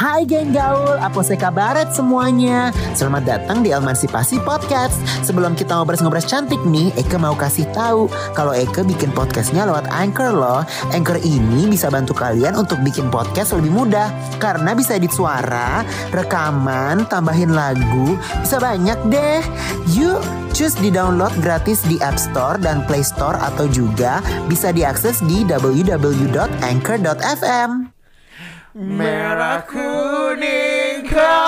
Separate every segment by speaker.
Speaker 1: Hai geng gaul, apa kabaret semuanya? Selamat datang di Emansipasi Podcast. Sebelum kita ngobrol-ngobrol cantik nih, Eke mau kasih tahu kalau Eke bikin podcastnya lewat Anchor loh. Anchor ini bisa bantu kalian untuk bikin podcast lebih mudah karena bisa edit suara, rekaman, tambahin lagu, bisa banyak deh. Yuk, cus di-download gratis di App Store dan Play Store atau juga bisa diakses di www.anchor.fm.
Speaker 2: Merah kuning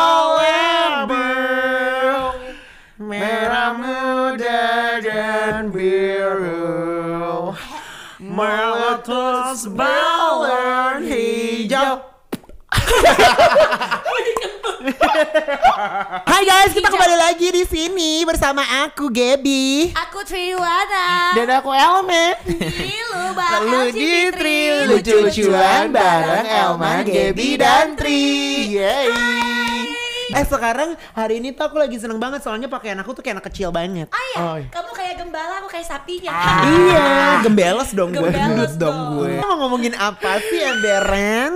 Speaker 2: kolabel, merah muda dan biru, meletus balon hijau.
Speaker 1: Hai guys, kita kembali lagi di sini bersama aku Gaby,
Speaker 3: aku Triwana,
Speaker 2: Dan aku Elme.
Speaker 3: Lalu
Speaker 2: di Tri lucu-lucuan bareng Elma, Gaby dan Tri. Yeay.
Speaker 1: sekarang hari ini tuh aku lagi seneng banget soalnya pakaian aku tuh kayak anak kecil banget.
Speaker 3: Oh iya, kamu kayak gembala, aku kayak sapinya.
Speaker 1: Iya, gembeles dong gue.
Speaker 3: Gembeles dong
Speaker 2: gue.
Speaker 1: Kita mau ngomongin apa sih emberen?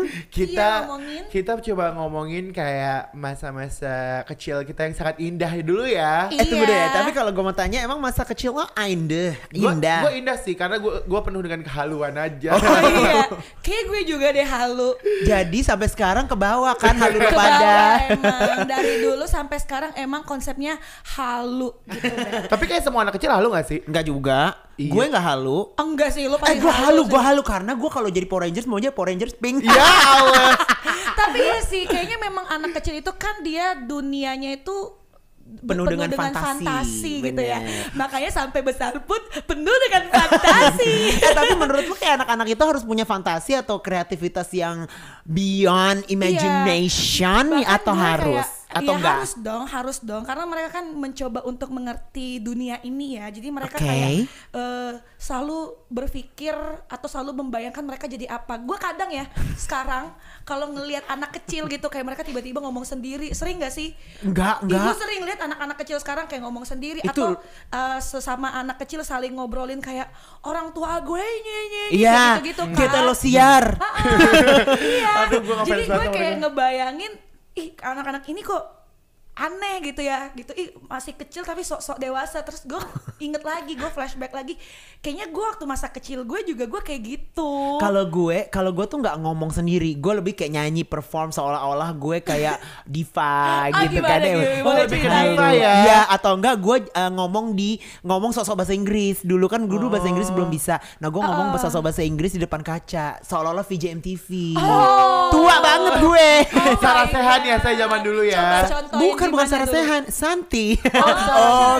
Speaker 2: Kita coba ngomongin kayak masa-masa kecil kita yang sangat indah dulu ya.
Speaker 3: Iya.
Speaker 1: Tunggu deh, tapi kalau gue mau tanya emang masa kecil lo indah?
Speaker 2: Gue indah sih karena gue penuh dengan kehaluan aja.
Speaker 3: Oh iya, kayak gue juga deh halu.
Speaker 1: Jadi sampai sekarang ke bawah kan halu
Speaker 3: Ke
Speaker 1: pada.
Speaker 3: bawah emang, dari dulu sampai sekarang emang konsepnya halu gitu deh.
Speaker 2: Tapi kayak semua anak kecil halu gak sih?
Speaker 1: Enggak juga.
Speaker 2: Iya.
Speaker 1: Gue enggak halu.
Speaker 3: Enggak sih, lu paling
Speaker 1: Gue halu
Speaker 3: sih.
Speaker 1: karena gue kalau jadi Power Rangers maunya Power Rangers pink.
Speaker 2: Ya Allah.
Speaker 3: Tapi ya sih, kayaknya memang anak kecil itu kan dia dunianya itu
Speaker 1: Penuh dengan fantasi,
Speaker 3: gitu ya.
Speaker 1: bener.
Speaker 3: Makanya sampai besar pun penuh dengan fantasi.
Speaker 1: Tapi menurut lu kayak anak-anak itu harus punya fantasi atau kreativitas yang beyond imagination
Speaker 3: Bahkan
Speaker 1: atau
Speaker 3: gue
Speaker 1: harus?
Speaker 3: kayak,
Speaker 1: Atau
Speaker 3: ya
Speaker 1: enggak?
Speaker 3: harus dong karena mereka kan mencoba untuk mengerti dunia ini ya. Jadi mereka
Speaker 1: Oke.
Speaker 3: kayak selalu berpikir atau selalu membayangkan mereka jadi apa. Gue kadang ya sekarang kalau ngelihat anak kecil gitu kayak mereka tiba-tiba ngomong sendiri, sering gak sih?
Speaker 1: Enggak.
Speaker 3: Gue sering lihat anak-anak kecil sekarang kayak ngomong sendiri
Speaker 1: Itu-
Speaker 3: atau sesama anak kecil saling ngobrolin kayak orang tua gue nyanyi
Speaker 1: Iya,
Speaker 3: gitu kan.
Speaker 1: kita lo siar.
Speaker 3: Iya.
Speaker 2: Aduh, gue ngefans
Speaker 3: Jadi gue
Speaker 2: banget sama
Speaker 3: kayak
Speaker 2: mereka.
Speaker 3: ngebayangin, ih anak-anak ini kok aneh gitu ya, gitu. Ih masih kecil tapi sok-sok dewasa. Terus gue inget lagi, gue flashback lagi. Kayaknya gue waktu masa kecil gue juga gue kayak gitu.
Speaker 1: Kalau gue tuh nggak ngomong sendiri, gue lebih kayak nyanyi perform seolah-olah gue kayak diva gitu
Speaker 3: gimana,
Speaker 1: kan
Speaker 3: gimana
Speaker 2: lebih ke
Speaker 3: ceritain?
Speaker 2: diva ya?
Speaker 1: Iya, atau enggak gue ngomong sosok bahasa Inggris. Dulu kan dulu bahasa Inggris belum bisa. Nah gue ngomong sosok bahasa Inggris di depan kaca seolah-olah VJ MTV. Tua banget gue.
Speaker 2: Sarah Sehan ya saya zaman dulu ya.
Speaker 3: Coba contohin
Speaker 1: Bukan
Speaker 3: gimana
Speaker 1: Sarah
Speaker 3: dulu.
Speaker 1: Sehan, Santi.
Speaker 2: Oh,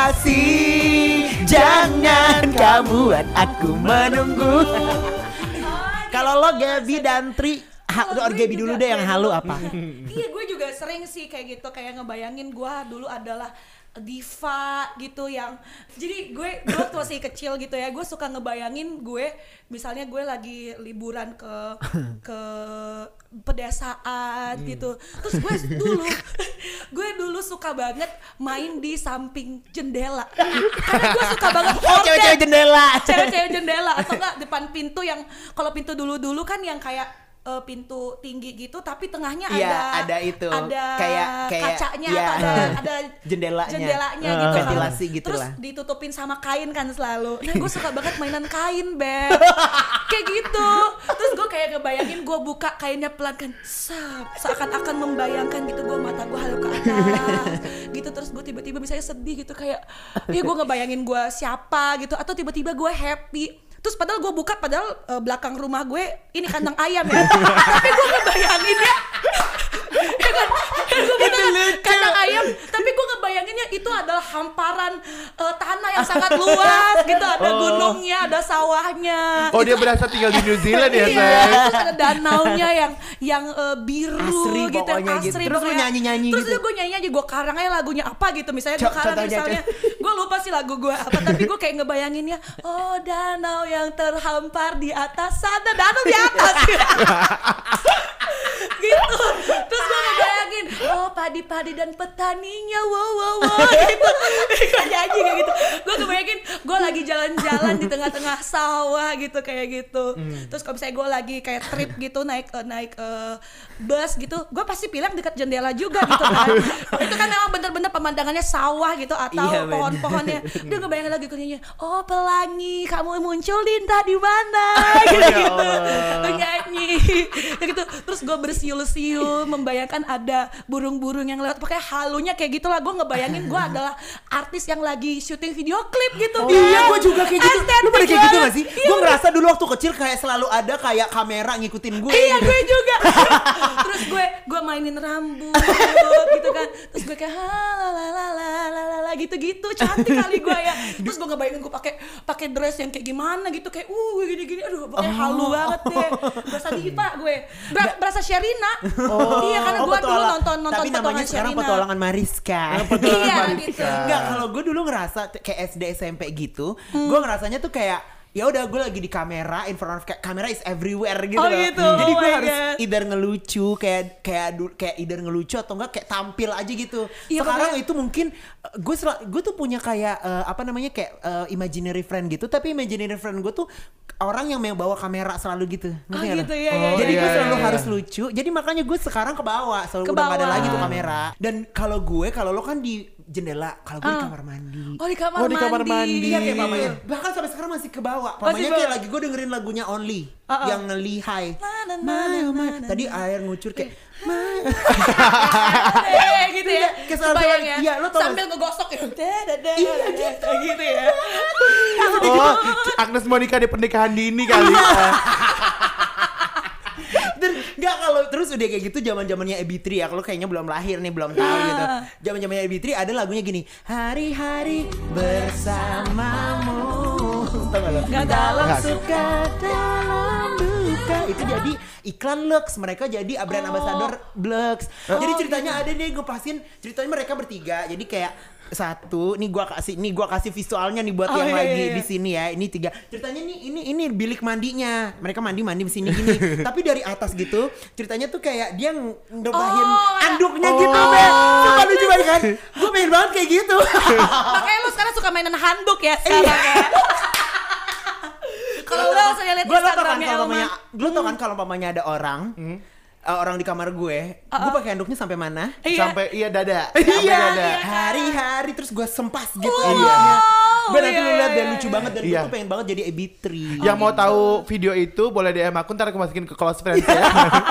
Speaker 1: kasih, jangan kamu buat aku menunggu. Kalau lo Gaby dan Tri,
Speaker 3: Kalau gue
Speaker 1: Gaby dulu
Speaker 3: juga
Speaker 1: deh yang
Speaker 3: kayak
Speaker 1: halu
Speaker 3: dulu.
Speaker 1: apa?
Speaker 3: Iya gue juga sering sih kayak gitu, kayak ngebayangin gue dulu adalah diva gitu yang jadi gue waktu masih kecil gitu ya, gue suka ngebayangin gue misalnya gue lagi liburan ke pedesaan gitu, terus gue dulu suka banget main di samping jendela karena gue suka banget
Speaker 1: Cewek-cewek jendela.
Speaker 3: cewek-cewek jendela atau enggak depan pintu yang kalau pintu dulu kan yang kayak pintu tinggi gitu tapi tengahnya
Speaker 1: Iya, ada itu.
Speaker 3: ada
Speaker 1: Kayak
Speaker 3: kacanya
Speaker 1: iya.
Speaker 3: atau ada
Speaker 1: Jendelanya.
Speaker 3: gitu kan.
Speaker 1: Ventilasi gitu
Speaker 3: Terus
Speaker 1: lah.
Speaker 3: ditutupin sama kain kan selalu. Nah gue suka banget mainan kain, Beb. Kayak gitu. Terus gue kayak ngebayangin gue buka kainnya pelan kan, seakan-akan membayangkan gitu, gue mata gue halu ke atas gitu. Terus gue tiba-tiba misalnya sedih gitu kayak ya gue ngebayangin gue siapa gitu, atau tiba-tiba gue happy. Terus padahal gue buka, padahal belakang rumah gue ini kandang ayam ya. Tapi gue ngebayangin ya kan gue buka kandang ayam, tapi gue ngebayanginnya itu adalah hamparan tanah yang sangat luas gitu. Ada gunungnya, ada sawahnya.
Speaker 2: Oh dia berasa tinggal di New Zealand ya
Speaker 3: Iya,
Speaker 2: saya.
Speaker 3: terus ada danaunya yang biru
Speaker 1: Asri
Speaker 3: gitu,
Speaker 1: pokoknya gitu.
Speaker 3: asri
Speaker 1: Terus lu
Speaker 3: pokoknya.
Speaker 1: nyanyi-nyanyi
Speaker 3: Terus
Speaker 1: gitu.
Speaker 3: gue nyanyi aja, gue karang aja lagunya apa gitu. Misalnya gue karang
Speaker 1: Contohnya,
Speaker 3: misalnya, gue lupa sih lagu gue apa, tapi gue kayak ngebayanginnya, oh danau yang terhampar di atas sana, danau di atas gitu. Terus gue ngebayangin, oh oh padi-padi dan petaninya, wow gitu. Gue nyanyi kayak gitu. Gue kebayangin gue lagi jalan-jalan di tengah-tengah sawah gitu kayak gitu. Terus kalau misalnya gue lagi kayak trip gitu naik bus gitu, gue pasti pilih dekat jendela juga gitu kan. Itu kan memang bener-bener pemandangannya sawah gitu atau pohon-pohonnya. Dia ngebayangin lagi kunyinya, oh pelangi kamu muncul di entah di mana gitu. Nyanyi gitu. Terus gue bersiul-siul membayangkan ada burung-burung yang lewat pakai halunya kayak gitulah. Gue ngebayangin gue adalah artis yang lagi syuting video klip gitu.
Speaker 4: Iya, gue juga kayak gitu. Lu pada kayak gitu gak sih?
Speaker 3: Iya,
Speaker 4: Gue ngerasa dulu waktu kecil kayak selalu ada kayak kamera ngikutin gue.
Speaker 3: Iya, gue juga. Terus gue mainin rambut gitu kan. Terus gue kayak la gitu-gitu, cantik kali gue ya. Terus gue ngebayangin gue pakai dress yang kayak gimana gitu, kayak gini-gini, aduh pokoknya halu banget deh. Berasa diva gue. Berasa Sherina. Iya, karena gue dulu nonton
Speaker 4: tapi namanya sekarang
Speaker 3: Sherina.
Speaker 4: Petualangan Mariska.
Speaker 3: Iya gitu.
Speaker 4: Enggak, kalau gue dulu ngerasa kayak SD SMP gitu, gue ngerasanya tuh kayak ya udah gue lagi di kamera, in front of kamera is everywhere gitu
Speaker 3: Oh
Speaker 4: loh.
Speaker 3: gitu.
Speaker 4: Jadi
Speaker 3: Oh
Speaker 4: gue
Speaker 3: my
Speaker 4: harus
Speaker 3: God.
Speaker 4: either ngelucu kayak either ngelucu atau enggak kayak tampil aja gitu.
Speaker 3: Iya,
Speaker 4: Sekarang
Speaker 3: pokoknya-
Speaker 4: itu mungkin gue tuh punya kayak imaginary friend gitu, tapi imaginary friend gue tuh orang yang mau bawa kamera selalu gitu. Ngerti nggak lo?
Speaker 3: gitu ya.
Speaker 4: Jadi gue
Speaker 2: iya,
Speaker 4: selalu
Speaker 2: iya.
Speaker 4: harus lucu. Jadi makanya gue sekarang ke bawah, selalu udah
Speaker 3: Ke
Speaker 4: gak ada
Speaker 3: bawah.
Speaker 4: lagi tuh kamera. Dan kalau lo kan di jendela, kalau gue di kamar mandi.
Speaker 3: Oh di kamar
Speaker 2: Oh, di kamar mandi.
Speaker 4: Iya kayak mamanya. Bahkan sampai sekarang masih ke bawah. Mamanya
Speaker 3: bawah.
Speaker 4: kayak lagi gue dengerin lagunya Only yang nge-lihai. Tadi air ngucur kayak
Speaker 3: gitu ya.
Speaker 4: Kebayang
Speaker 3: ya.
Speaker 4: Iya, lo tau
Speaker 3: sambil ngegosok ya.
Speaker 4: Iya,
Speaker 3: gitu ya.
Speaker 2: Oh, Agnes Monica di pernikahan dini kali.
Speaker 4: Dan enggak, kalau terus udah kayak gitu zaman-zamannya Ebi3 ya. Kalau kayaknya belum lahir nih, belum tahu gitu. Zaman-zamannya Ebi3 ada lagunya gini. Hari-hari bersamamu. Tahu enggak lo?
Speaker 3: Nggak dalam
Speaker 2: Nggak.
Speaker 4: Suka dalam duka. Itu jadi iklan Lux. Mereka jadi brand ambassador Lux. Jadi ceritanya ada nih, gue pasin ceritanya mereka bertiga. Jadi kayak satu, nih gua kasih visualnya nih buat yang lagi di sini ya. Ini 3. Ceritanya nih ini bilik mandinya. Mereka mandi di sini gini. Tapi dari atas gitu, ceritanya tuh kayak dia ngebahin anduknya gitu, Be. Coba lu coba kan. Gue pengen banget kayak gitu.
Speaker 3: Makanya lu sekarang suka mainan handuk ya sekarang ya. Kalau lu saya lihat Instagramnya Elman.
Speaker 4: Lu tau kan kalau mamanya ada orang orang di kamar gue pakai handuknya sampai mana?
Speaker 3: Iya.
Speaker 2: Sampai dada. Sampai
Speaker 4: Iya,
Speaker 2: dada.
Speaker 4: hari-hari terus gue sempas gitu.
Speaker 2: Iya.
Speaker 4: Gue nanti lu
Speaker 3: iya,
Speaker 4: lihat deh,
Speaker 3: iya,
Speaker 4: lucu banget. Dan gue
Speaker 2: Iya.
Speaker 4: tuh pengen banget jadi Ebi3.
Speaker 2: Yang mau tahu video itu boleh DM aku, ntar aku masukin ke close friends ya.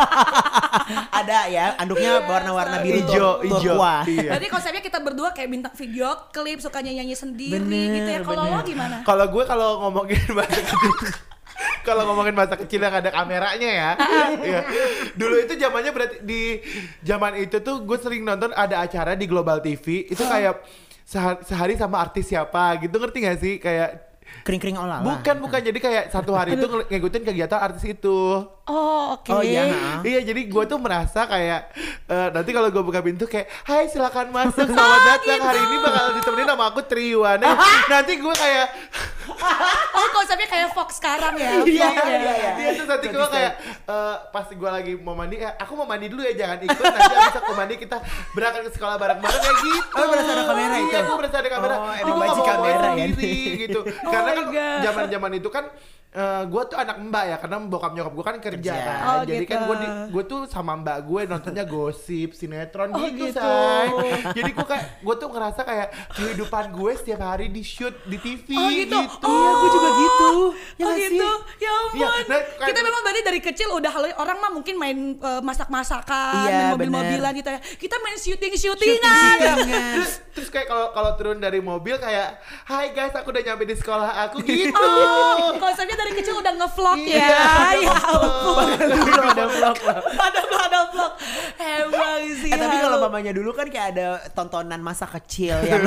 Speaker 4: Ada ya, anduknya warna-warna biru
Speaker 2: Ijo.
Speaker 4: turquoise.
Speaker 2: Iya.
Speaker 3: Berarti konsepnya kita berdua kayak bintang video klip, sukanya nyanyi sendiri gitu ya. Kalau lo gimana?
Speaker 2: Kalau gue ngomongin masa kecil, kalau ngomongin masa kecil yang ada kameranya ya, iya. Dulu itu zamannya berarti di zaman itu tuh gue sering nonton ada acara di Global TV itu kayak sehari sama artis siapa gitu, ngerti gak sih kayak
Speaker 4: Kering-kering olala.
Speaker 2: bukan jadi kayak satu hari itu ngikutin kegiatan artis itu.
Speaker 3: Oh oke.
Speaker 4: Oh iya.
Speaker 2: Iya, jadi gue tuh merasa kayak nanti kalau gue buka pintu kayak, hai silakan masuk, selamat datang, hari ini bakal ditemenin sama aku Triwan. Nanti gue kayak
Speaker 3: Oh konsepnya kayak Fox sekarang ya.
Speaker 4: Iya,
Speaker 3: Vlog ya.
Speaker 4: iya.
Speaker 2: terus nanti gue kayak pas gue lagi mau mandi, aku mau mandi dulu ya, jangan ikut, nanti abis aku mandi kita berangkat ke sekolah bareng-bareng kayak gitu.
Speaker 4: Oh, berasa ada kamera itu?
Speaker 2: Iya, gue berasa ada kamera.
Speaker 4: Oh,
Speaker 2: Gue
Speaker 4: emang
Speaker 2: nggak
Speaker 4: baju
Speaker 2: mau
Speaker 4: kamera ya?
Speaker 2: sendiri gitu. Karena
Speaker 3: my
Speaker 2: kan
Speaker 3: God.
Speaker 2: zaman-zaman itu kan gue tuh anak mbak ya, karena bokap nyokap gue kan kerja
Speaker 4: Kerja.
Speaker 2: kan.
Speaker 3: Oh,
Speaker 2: Jadi
Speaker 3: gitu.
Speaker 2: kan gue tuh sama mbak gue nontonnya gosip, sinetron
Speaker 3: Oh,
Speaker 2: gitu,
Speaker 3: gitu.
Speaker 2: say. Jadi gue tuh ngerasa kayak kehidupan gue setiap hari di shoot di TV
Speaker 3: Oh gitu.
Speaker 4: Iya, gue juga gitu. Ya
Speaker 3: Oh
Speaker 4: nggak
Speaker 3: gitu.
Speaker 4: sih?
Speaker 3: Ya ampun.
Speaker 2: Iya, nah, kayak-
Speaker 3: Kita memang berarti dari kecil udah orang mah mungkin main masak-masakan,
Speaker 4: Iya,
Speaker 3: main mobil-mobilan gitu ya. Kita main syuting-syutingan.
Speaker 4: Syuting-syutingan.
Speaker 2: Terus kayak kalau turun dari mobil kayak, hai guys, aku udah nyampe di sekolah aku gitu.
Speaker 3: Oh, konsepnya dari kecil udah ngevlog ya. Ya ampun.
Speaker 4: Ada vlog lah.
Speaker 3: Ada vlog. Emang sih.
Speaker 4: Tapi
Speaker 3: ya.
Speaker 4: kalau mamanya dulu kan kayak ada tontonan masa kecil yang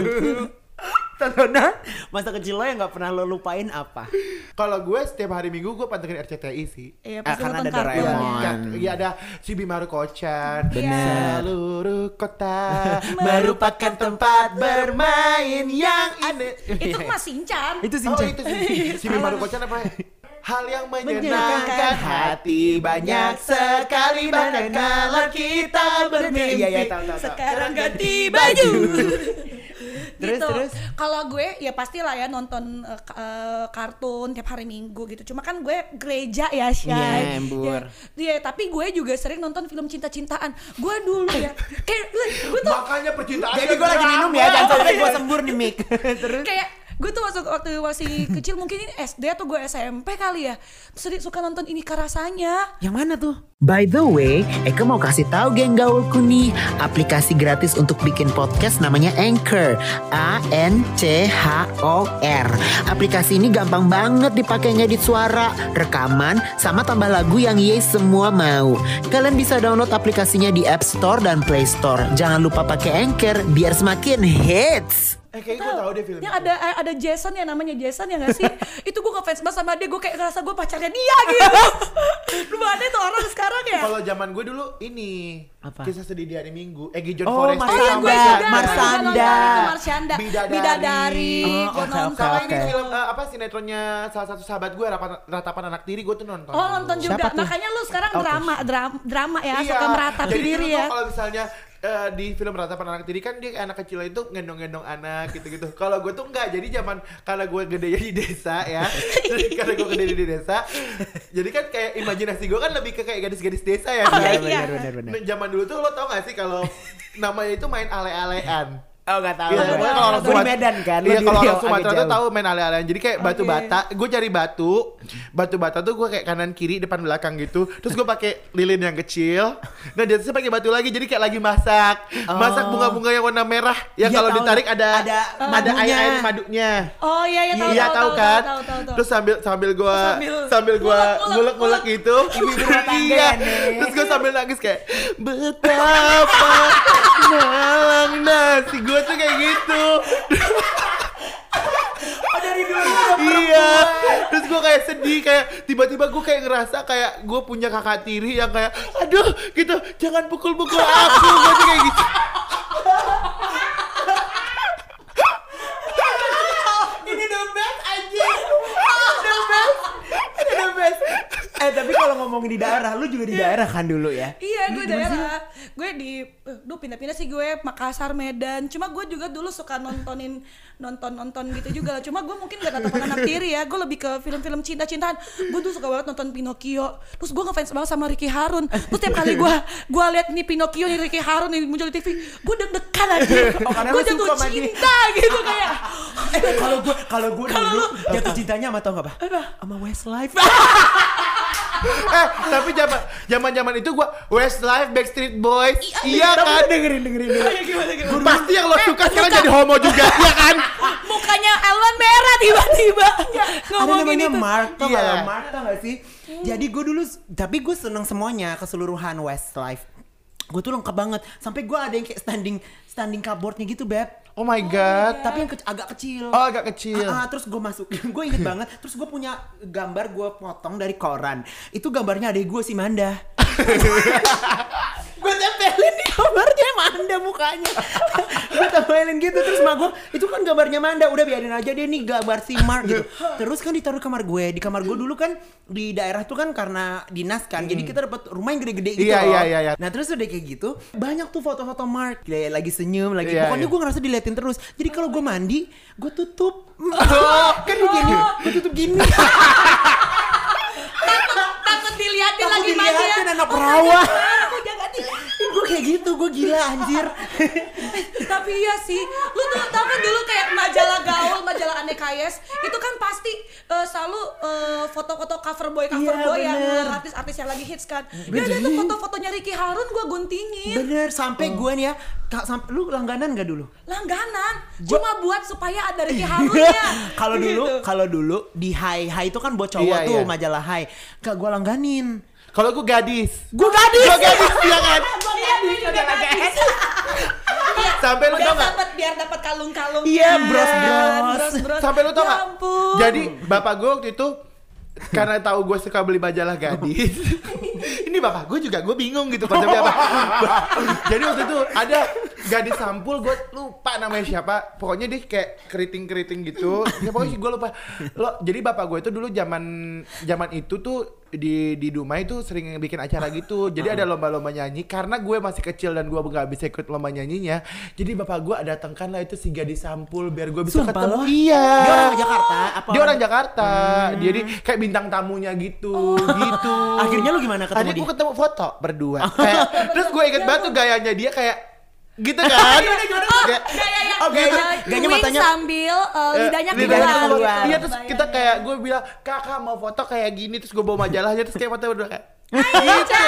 Speaker 4: tontonan masa kecil lo yang nggak pernah lo lupain apa?
Speaker 2: Kalau gue setiap hari Minggu gue pantengin RCTI sih.
Speaker 3: Iya, pasti
Speaker 4: karena
Speaker 3: nonton
Speaker 4: ada
Speaker 3: kartun
Speaker 4: Doraemon.
Speaker 3: ya.
Speaker 2: Iya, ada si Bimaru Kocan.
Speaker 3: Bener.
Speaker 2: Seluruh kota merupakan tempat bermain yang indah.
Speaker 3: Itu mah Shinchan.
Speaker 4: Itu
Speaker 2: Oh
Speaker 4: Shinchan.
Speaker 2: itu si Bimaru Kocan apa ya? hal yang menyenangkan hati banyak sekali bahkan kalau kita bermimpi.
Speaker 4: Iya, tahu.
Speaker 3: Sekarang ganti baju.
Speaker 4: Terus,
Speaker 3: Gitu.
Speaker 4: terus?
Speaker 3: Kalau gue ya pastilah ya nonton kartun tiap hari Minggu gitu. Cuma kan gue gereja ya, Syai.
Speaker 4: Nyembur.
Speaker 3: Iya, tapi gue juga sering nonton film cinta-cintaan. Gue dulu ya kayak gue tuh
Speaker 2: Makanya percintaan.
Speaker 4: Jadi gue lagi minum ya, jangan sampai gue sembur nih Mik. Terus
Speaker 3: kayak gue tuh waktu masih kecil, mungkin ini SD atau gue SMP kali ya, terus suka nonton Ini Kah Rasanya.
Speaker 4: yang mana tuh?
Speaker 1: By the way, Eka mau kasih tahu geng gaulku nih, aplikasi gratis untuk bikin podcast namanya Anchor, ANCHOR. Aplikasi ini gampang banget dipakai ngedit suara, rekaman, sama tambah lagu yang ye semua mau. Kalian bisa download aplikasinya di App Store dan Play Store. Jangan lupa pakai Anchor biar semakin hits.
Speaker 2: Kayaknya gue tahu deh film
Speaker 3: Yang
Speaker 2: itu.
Speaker 3: ada Jason ya, namanya Jason ya gak sih? Itu gue ngefans banget sama dia, gue kayak ngerasa gue pacarnya dia gitu. Lu ada tuh orang sekarang ya?
Speaker 2: Kalau zaman gue dulu ini
Speaker 4: Apa?
Speaker 2: Kisah Sedih di Hari Minggu. Gijon
Speaker 4: Oh,
Speaker 2: Forest.
Speaker 4: Mas
Speaker 3: Oh iya, gue
Speaker 4: Sanda,
Speaker 3: juga.
Speaker 4: Marsanda.
Speaker 3: Marsanda.
Speaker 2: Bidadari.
Speaker 3: Bidadari.
Speaker 4: Oh,
Speaker 3: Gue
Speaker 4: oke,
Speaker 3: nonton.
Speaker 2: Sama
Speaker 4: oke.
Speaker 2: ini film sinetronnya salah satu sahabat gue, Ratapan Anak Tiri, gue tuh nonton.
Speaker 3: Oh, nonton juga.
Speaker 4: Siapa tuh?
Speaker 3: Makanya lu sekarang
Speaker 4: Oke.
Speaker 3: drama ya,
Speaker 2: Iya.
Speaker 3: suka meratapi
Speaker 2: Jadi
Speaker 3: diri
Speaker 2: dulu
Speaker 3: ya.
Speaker 2: tuh kalau misalnya di film Ratapan Anak Tiri kan dia kayak anak kecil itu gendong-gendong anak gitu-gitu. Kalau gue tuh enggak, jadi zaman karena gue gedenya di desa ya. Jadi karena gue gede di desa, jadi kan kayak imajinasi gue kan lebih ke kayak gadis-gadis desa ya.
Speaker 3: Oh,
Speaker 2: kan?
Speaker 3: iya.
Speaker 4: Benar.
Speaker 2: Nah, zaman dulu tuh lo tau gak sih kalau namanya itu main ale-alean.
Speaker 4: Oh gak tahu.
Speaker 2: Iya,
Speaker 3: Tahu.
Speaker 2: pokoknya kalau orang
Speaker 4: Gue di
Speaker 2: Sumatera,
Speaker 4: Medan kan.
Speaker 2: Iya, kalau orang
Speaker 4: agak
Speaker 2: Sumatera tuh
Speaker 4: jauh.
Speaker 2: tahu main ale-alean. Jadi kayak batu bata, gue cari batu bata tuh gue kayak kanan kiri depan belakang gitu. Terus gue pakai lilin yang kecil. Nah di atasnya pakai batu lagi. Jadi kayak lagi masak bunga-bunga yang warna merah. Yang
Speaker 4: Iya,
Speaker 2: kalau
Speaker 4: tahu.
Speaker 2: ditarik ada
Speaker 4: madunya.
Speaker 2: air madunya.
Speaker 3: Oh iya, tahu.
Speaker 2: Iya tahu kan?
Speaker 3: Tahu.
Speaker 2: Terus sambil gua
Speaker 3: Sambil
Speaker 2: ngulek-ngulek gitu.
Speaker 4: Ibu-ibu rumah tangga
Speaker 2: Iya.
Speaker 4: nih.
Speaker 2: Terus gua sambil nangis kayak betapa malang nasi. Gua tuh kayak gitu.
Speaker 4: Oh, dari dulu.
Speaker 2: Iya. Terus gua kayak sedih, kayak tiba-tiba gua kayak ngerasa kayak gua punya kakak tiri yang kayak aduh gitu, jangan pukul-pukul aku. Gua tuh kayak gitu.
Speaker 4: Ini the best anjing. The best. Tapi kalau ngomongin di daerah, lu juga di daerah kan dulu ya?
Speaker 3: Iya, gue daerah. Gue di pindah-pindah sih gue, Makassar, Medan. Cuma gue juga dulu suka nonton gitu juga lah. Cuma gue mungkin gak Ratapan Anak Tiri ya. Gue lebih ke film-film cinta-cintaan. Gue tuh suka banget nonton Pinocchio. Terus gue ngefans banget sama Ricky Harun. Terus tiap kali gue lihat nih Pinocchio nih, Ricky Harun nih muncul di TV, gue deg-degan aja.
Speaker 4: Oh, karena
Speaker 3: Gue
Speaker 4: lu
Speaker 3: jatuh
Speaker 4: suka sama dia.
Speaker 3: cinta gitu kayak.
Speaker 4: Kalau gue dulu jatuh cintanya sama tau gak apa? Sama Westlife.
Speaker 2: Tapi zaman itu gua Westlife, Backstreet Boys, iya kan?
Speaker 4: Dengerin dulu.
Speaker 2: Pasti yang lo suka sekarang jadi homo juga, ya kan?
Speaker 3: Mukanya Elwan merah tiba-tiba.
Speaker 4: Ada
Speaker 3: Ngomongin
Speaker 4: namanya
Speaker 3: itu.
Speaker 4: Mark, tau
Speaker 2: Iya.
Speaker 4: gak? Mark tau gak sih? Jadi gue dulu, tapi gue seneng semuanya, keseluruhan Westlife. Gue tuh lengkap banget. Sampai gue ada yang kayak standing cupboardnya gitu, Beb.
Speaker 2: Oh my god.
Speaker 4: Tapi yang agak kecil.
Speaker 2: Oh agak kecil.
Speaker 4: Terus gue masukin, gue inget banget. Terus gue punya gambar, gue potong dari koran. Itu gambarnya adek gue si Manda. Gue tempelin di gambarnya Manda mukanya. Gue tempelin gitu. Terus sama gue, itu kan gambarnya Manda. Udah biarin aja deh nih gambar si Mark gitu. Terus kan ditaruh di kamar gue. Di kamar gue dulu kan di daerah itu kan karena dinas kan. Jadi kita dapat rumah yang gede-gede gitu
Speaker 2: Iya,
Speaker 4: loh.
Speaker 2: iya.
Speaker 4: Nah terus udah kayak gitu, banyak tuh foto-foto Mark. Kayak lagi senyum, lagi.
Speaker 2: Iya,
Speaker 4: Pokoknya
Speaker 2: iya.
Speaker 4: gue ngerasa diliatin terus. Jadi kalau gue mandi, gue tutup. Kan begini, gue tutup gini.
Speaker 3: Takut diliatin
Speaker 4: Takut
Speaker 3: lagi mandi ya.
Speaker 4: diliatin anak perawan.
Speaker 3: Aku jangan di.
Speaker 4: Gue kayak gitu, gue gila anjir.
Speaker 3: Tapi iya sih, lu tuh tau kan dulu kayak majalah gaul, majalah Aneka Yes, itu kan pasti selalu foto-foto cover boy
Speaker 4: Iya,
Speaker 3: yang
Speaker 4: bener.
Speaker 3: artis-artis yang lagi hits kan. Ya ada tuh foto-fotonya Ricky Harun gue guntingin.
Speaker 4: Bener, sampai gue nih ya, sampai lu langganan gak dulu?
Speaker 3: Langganan, cuma buat supaya ada Ricky Harunnya.
Speaker 4: Kalau dulu di Hai itu kan buat cowok
Speaker 2: Iya,
Speaker 4: tuh,
Speaker 2: iya.
Speaker 4: majalah Hai. Gak gue langganin.
Speaker 2: Kalau gue gadis.
Speaker 4: Gue gadis.
Speaker 2: Iya kan?
Speaker 3: Iya, gue juga gadis.
Speaker 2: Sampai lu tau gak?
Speaker 3: Biar dapat kalung-kalung.
Speaker 4: Iya, bros.
Speaker 2: Sampai lu tau
Speaker 3: Ya
Speaker 2: gak?
Speaker 3: ampun.
Speaker 2: Jadi bapak gue waktu itu karena tahu gue suka beli majalah gadis. Ini bapak gue juga, gue bingung gitu konsepnya apa. Jadi waktu itu ada gadis sampul gue lupa namanya siapa. Pokoknya dia kayak keriting gitu. Ya pokoknya gue lupa. Jadi bapak gue itu dulu zaman itu tuh di Dumai itu sering bikin acara gitu. Jadi ada lomba-lomba nyanyi. Karena gue masih kecil dan gue nggak bisa ikut lomba nyanyinya. Jadi bapak gue datangkan lah itu si gadis sampul biar gue bisa ketemu. Iya.
Speaker 4: Dia orang Jakarta.
Speaker 2: Dia orang Jakarta. Jadi kayak bintang tamunya gitu.
Speaker 4: Akhirnya lu gimana ketemu
Speaker 2: Akhirnya
Speaker 4: dia?
Speaker 2: gue ketemu foto berdua. Terus gue inget banget tuh gayanya dia kayak gitu kan.
Speaker 4: Gayanya matanya
Speaker 3: sambil lidahnya keluar.
Speaker 2: Iya, terus kita kayak gue bilang, "Kakak mau foto kayak gini." Terus gue bawa majalahnya terus kayak foto berdua kayak gitu.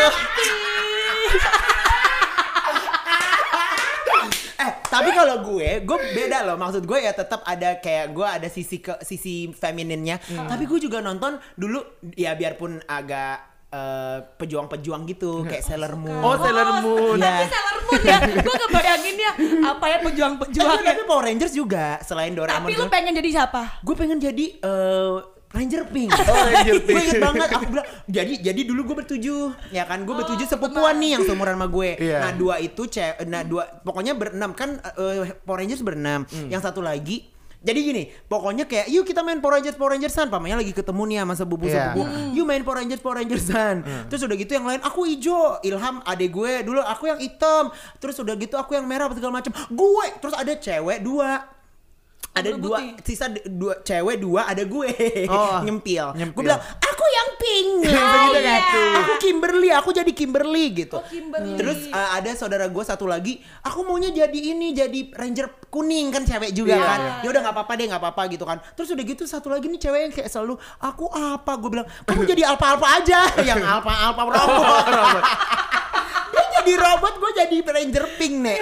Speaker 4: Tapi kalau gue beda loh. Maksud gue ya tetap ada kayak gue ada sisi femininnya. Tapi gue juga nonton dulu ya biarpun agak pejuang-pejuang gitu kayak Sailor Moon.
Speaker 2: Oh, Sailor Moon.
Speaker 3: Tapi Sailor Moon ya, gue kebayangin ya apa ya pejuang-pejuang.
Speaker 4: Tapi Power Rangers juga selain Doraemon.
Speaker 3: Tapi lu pengen jadi siapa?
Speaker 4: Gue pengen jadi Ranger Pink.
Speaker 2: Ranger Pink.
Speaker 4: Gue inget banget. Aku bilang jadi dulu gue bertujuh, ya kan? Gue bertujuh sepupuan nih yang seumuran sama gue.
Speaker 2: Iya.
Speaker 4: Nah dua pokoknya berenam kan Power Rangers berenam. Yang satu lagi. Jadi gini, pokoknya kayak yuk kita main Power Rangersan. Pamannya lagi ketemu nih sama sepupu-sepupu. Yuk main Power Rangersan. Terus udah gitu yang lain aku hijau, Ilham adek gue, dulu aku yang hitam. Terus udah gitu aku yang merah segala macam. Gue terus ada cewek dua. Ada dua cewek dua ada gue nyempil. Gue bilang aku yang pink gitu kan. Aku Kimberly, aku jadi Kimberly gitu. Terus ada saudara gue satu lagi, aku maunya jadi Ranger kuning kan cewek juga kan. Ya udah nggak apa-apa gitu kan. Terus udah gitu satu lagi nih cewek yang kayak selalu aku apa, gue bilang kamu jadi alpa aja yang alpa robot. Jadi robot, gue jadi Ranger Pink nih.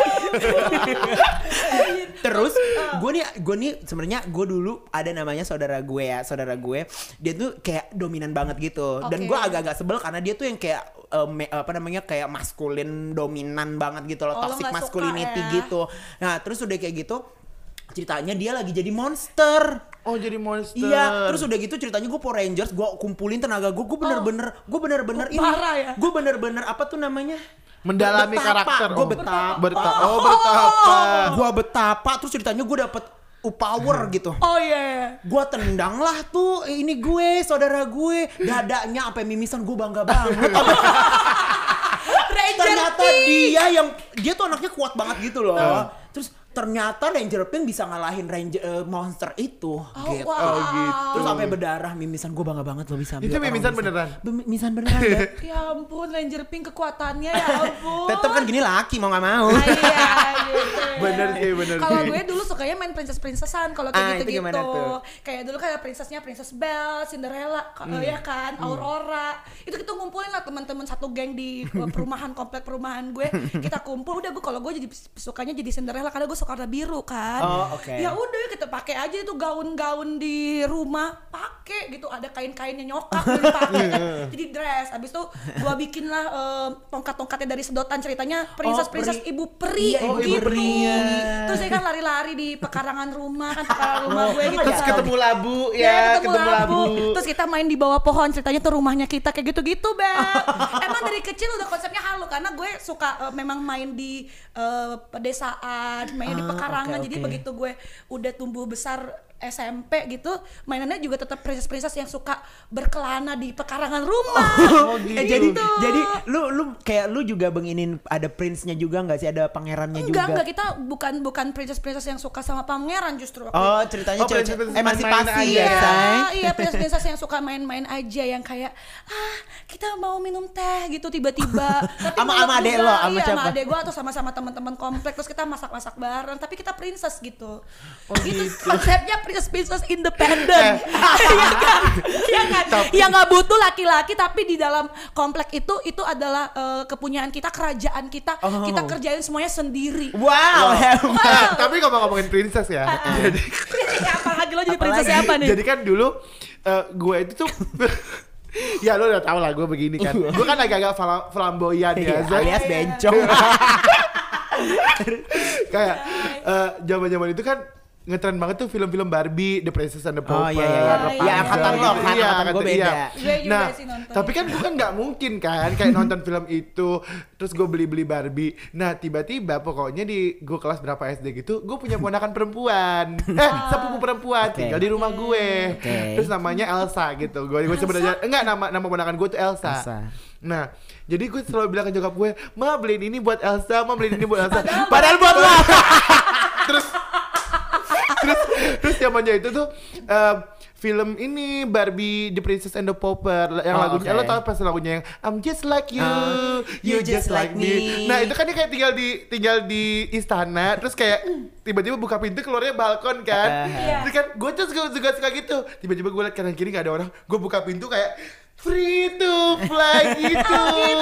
Speaker 4: Terus gue nih sebenarnya gue dulu ada namanya saudara gue, dia tuh kayak dominan banget gitu. Dan gue agak-agak sebel karena dia tuh yang kayak kayak maskulin dominan banget gitu loh, toxic masculinity gitu. Nah terus udah kayak gitu ceritanya dia lagi jadi monster.
Speaker 2: Oh jadi monster.
Speaker 4: Iya, terus udah gitu ceritanya gue Power Rangers, gue kumpulin tenaga gue bener-bener ini.
Speaker 3: Parah ya?
Speaker 4: Gue bener-bener apa tuh namanya?
Speaker 2: Mendalami karakter.
Speaker 4: Gue betapa. Gue betapa. Terus ceritanya gue dapet power gitu.
Speaker 3: Oh iya.
Speaker 4: Gue tendang lah tuh ini gue, saudara gue, dadanya sampai mimisan, gue bangga banget. Ternyata dia tuh anaknya kuat banget gitu loh. Terus ternyata Ranger Pink bisa ngalahin monster itu. Gitu.
Speaker 3: Wow.
Speaker 2: Gitu.
Speaker 4: Terus sampai berdarah mimisan, gue bangga banget loh bisa.
Speaker 2: Itu mimisan beneran?
Speaker 4: Mimisan beneran ya.
Speaker 3: Ya ampun, Ranger Pink kekuatannya ya ampun.
Speaker 4: Tetep kan gini laki mau gak mau.
Speaker 3: Iya gitu.
Speaker 2: Bener sih.
Speaker 3: Kalau gue dulu sukanya main princess-princessan kalau kayak
Speaker 4: itu gimana
Speaker 3: gitu-gitu.
Speaker 4: tuh?
Speaker 3: Kayak dulu kayak princessnya Princess Belle, Cinderella, ya kan, Aurora. Itu kita ngumpulin lah teman-teman satu geng di komplek perumahan gue. Kita kumpul, udah gue kalau gue jadi sukanya jadi Cinderella karena gue suka warna biru kan. Ya udah kita pakai aja itu gaun-gaun di rumah, pakai gitu, ada kain-kainnya nyokap dipakai jadi dress. Abis itu gue bikin lah tongkat-tongkatnya dari sedotan, ceritanya princess ibu peri gitu. Terus saya kan lari-lari di pekarangan rumah gue gitu.
Speaker 2: Terus ketemu labu ya, ketemu labu.
Speaker 3: Terus kita main di bawah pohon, ceritanya tuh rumahnya kita kayak gitu-gitu, Beb. Emang dari kecil udah konsepnya halu karena gue suka memang main di pedesaan, main di pekarangan. Jadi begitu gue udah tumbuh besar SMP gitu, mainannya juga tetap princess yang suka berkelana di pekarangan rumah.
Speaker 4: Jadi lu kayak lu juga benginin ada prince-nya juga nggak sih, ada pangerannya juga?
Speaker 3: Enggak, kita bukan princess yang suka sama pangeran justru.
Speaker 4: Ceritanya emansipasi
Speaker 3: ya.
Speaker 4: ya, say.
Speaker 3: Iya, princess yang suka main-main aja, yang kayak kita mau minum teh gitu tiba-tiba.
Speaker 4: Sama adek lo, sama siapa?
Speaker 3: Sama adek gue atau sama teman-teman komplek, terus kita masak-masak bareng, tapi kita princess gitu. Itu konsepnya princess independent. Iya kan? Yang nggak butuh laki-laki, tapi di dalam komplek itu adalah kepunyaan kita, kerajaan kita. Kita kerjain semuanya sendiri.
Speaker 4: Wow.
Speaker 2: Tapi kalau ngomongin princess ya. Jadi
Speaker 3: apa lagi lo jadi princess siapa nih?
Speaker 2: Jadi kan dulu gue itu tuh ya lo udah tau lah gue begini kan. Gue kan agak-agak flamboyan ya,
Speaker 4: alias bencong.
Speaker 2: Kayak zaman-zaman itu kan ngetren banget tuh film-film Barbie, The Princess and the
Speaker 4: Oh,
Speaker 2: Pauper.
Speaker 4: iya. Ya, angkatan lo kan,
Speaker 2: Iya,
Speaker 4: angkatan gue beda.
Speaker 3: Gue juga
Speaker 2: Nah,
Speaker 3: sih nonton.
Speaker 2: tapi kan gue kan nggak mungkin kan kayak nonton film itu terus gue beli Barbie. Nah, tiba-tiba pokoknya di gue kelas berapa SD gitu, gue punya ponakan perempuan. Sepupu perempuan tinggal di rumah gue. Terus namanya Elsa gitu. Gue sebenarnya enggak, nama ponakan gue tuh Elsa. Nah, jadi gue selalu bilang ke nyokap gue, "Ma, beliin ini buat Elsa, Ma, beliin ini buat Elsa." Padahal buat lo. terus zamannya itu tuh film ini Barbie The Princess and the Pauper yang lagunya lo tau pas lagunya yang I'm just like you, you just like me. Nah, itu kan dia kayak tinggal di istana terus kayak tiba-tiba buka pintu keluarnya balkon kan. Terus kan gue tuh suka gitu. Tiba-tiba gue liat kanan kiri gak ada orang, gue buka pintu kayak free to fly gitu.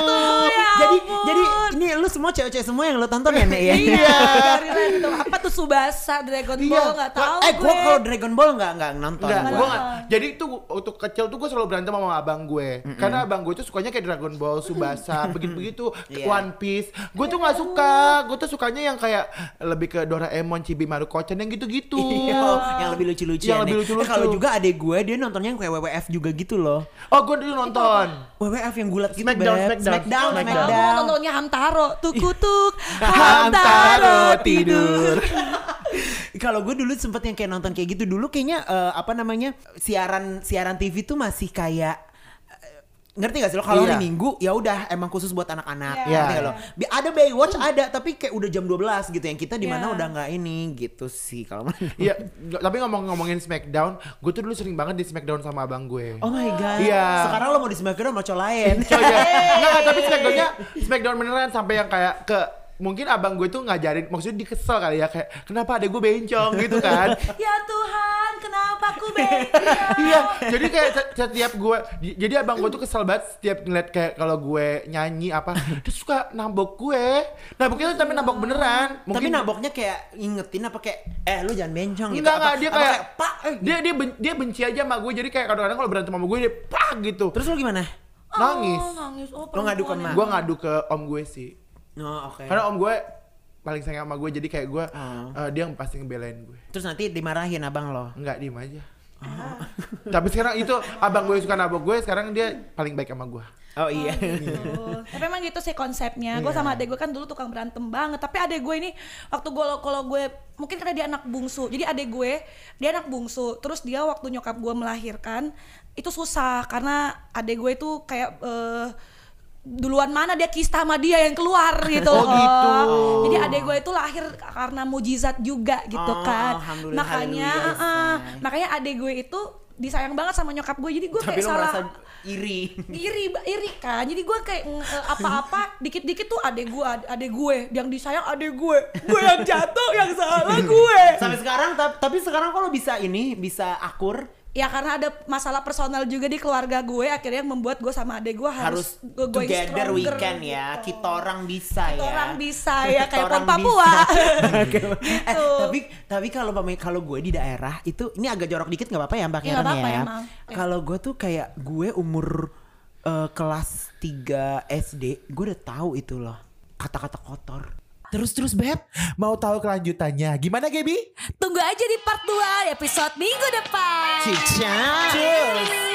Speaker 4: Jadi ini lu semua cewek-cewek semua yang lu tonton ya, Nek ya?
Speaker 2: Iya.
Speaker 3: Gitu. Apa tuh Subasa, Dragon Ball nggak tahu gue.
Speaker 4: Gua kalau Dragon Ball nggak nonton.
Speaker 2: Gue nggak. Jadi tuh waktu kecil tuh gue selalu berantem sama abang gue. Karena abang gue tuh sukanya kayak Dragon Ball, Subasa, begitu-begitu, One Piece. Gue tuh nggak suka. Gue tuh sukanya yang kayak lebih ke Doraemon, Chibimaru Kochen yang gitu-gitu.
Speaker 4: Yang lebih lucu-lucu.
Speaker 2: Yang lebih lucu-lucu.
Speaker 4: Kalau juga adek gue dia nontonnya yang kayak WWF juga gitu loh.
Speaker 2: Oh, gue dulu nonton.
Speaker 4: WWF yang gulat gitu,
Speaker 2: Smackdown.
Speaker 3: Gue nontonnya Hamtaro, tuk-tuk, Hamtaro tidur.
Speaker 4: Kalau gue dulu sempet yang kayak nonton kayak gitu dulu kayaknya siaran TV tuh masih kayak ngerti gak sih lo kalau hari Minggu ya udah emang khusus buat anak-anak. Ngerti gak lo? Ada Baywatch ada tapi kayak udah jam 12 gitu yang kita di mana udah nggak ini gitu sih kalau
Speaker 2: Iya, tapi ngomongin Smackdown, gue tuh dulu sering banget di Smackdown sama abang gue.
Speaker 4: Oh my god.
Speaker 2: Iya.
Speaker 4: Sekarang lo mau di Smackdown sama cowok lain.
Speaker 2: Enggak, tapi Smackdown beneran sampai yang kayak mungkin abang gue tuh ngajarin, maksudnya dikesel kali ya kayak kenapa adek gue bencong gitu kan.
Speaker 3: Ya Tuhan, kenapa aku bencong?
Speaker 2: Iya, jadi kayak setiap gue, jadi abang gue tuh kesel banget setiap ngeliat kayak kalau gue nyanyi apa, terus suka nabok gue. Naboknya tuh tapi nabok beneran.
Speaker 4: Tapi naboknya kayak ingetin apa kayak lu jangan bencong gitu.
Speaker 2: Enggak, dia kayak
Speaker 4: Pak.
Speaker 2: Dia benci aja sama gue, jadi kayak kadang-kadang kalau berantem sama gue dia pak gitu.
Speaker 4: Terus lo gimana?
Speaker 2: Nangis.
Speaker 4: Lo ngadu ke mana?
Speaker 2: Gue ngadu ke om gue sih.
Speaker 4: Oh, oke.
Speaker 2: Karena om gue paling sayang sama gue, jadi kayak gue dia pasti ngebelain gue.
Speaker 4: Terus nanti dimarahin abang lo?
Speaker 2: Enggak, diem aja. Tapi sekarang itu abang gue suka nabok gue, sekarang dia paling baik sama gue.
Speaker 4: Oh iya.
Speaker 3: Tapi emang gitu sih konsepnya. Gue sama adek gue kan dulu tukang berantem banget. Tapi adek gue ini waktu kalau gue mungkin karena dia anak bungsu. Jadi adek gue dia anak bungsu. Terus dia waktu nyokap gue melahirkan itu susah karena adek gue itu kayak duluan mana dia kista sama dia yang keluar gitu.
Speaker 2: Oh gitu.
Speaker 3: Jadi adek gue itu lahir karena mujizat juga gitu kan. Makanya adek gue itu disayang banget sama nyokap gue. Jadi gue kayak salah
Speaker 4: iri
Speaker 3: kan. Jadi gue kayak apa-apa dikit-dikit tuh adek gue yang disayang adek gue yang jatuh yang salah gue.
Speaker 4: Sampai sekarang tapi sekarang kalau bisa akur.
Speaker 3: Ya karena ada masalah personal juga di keluarga gue, akhirnya membuat gue sama adek gue harus
Speaker 4: together weekend ya. Kita orang bisa
Speaker 3: ya kayak Pon Papua.
Speaker 4: Gitu. Tapi kalau gue di daerah itu ini agak jorok dikit nggak apa-apa ya Mbak Karen ya. Kalau gue tuh kayak gue umur kelas 3 SD, gue udah tahu itu loh kata-kata kotor.
Speaker 1: Terus Beb, mau tahu kelanjutannya? Gimana Gaby?
Speaker 3: Tunggu aja di part 2 episode minggu depan.
Speaker 4: Ciao.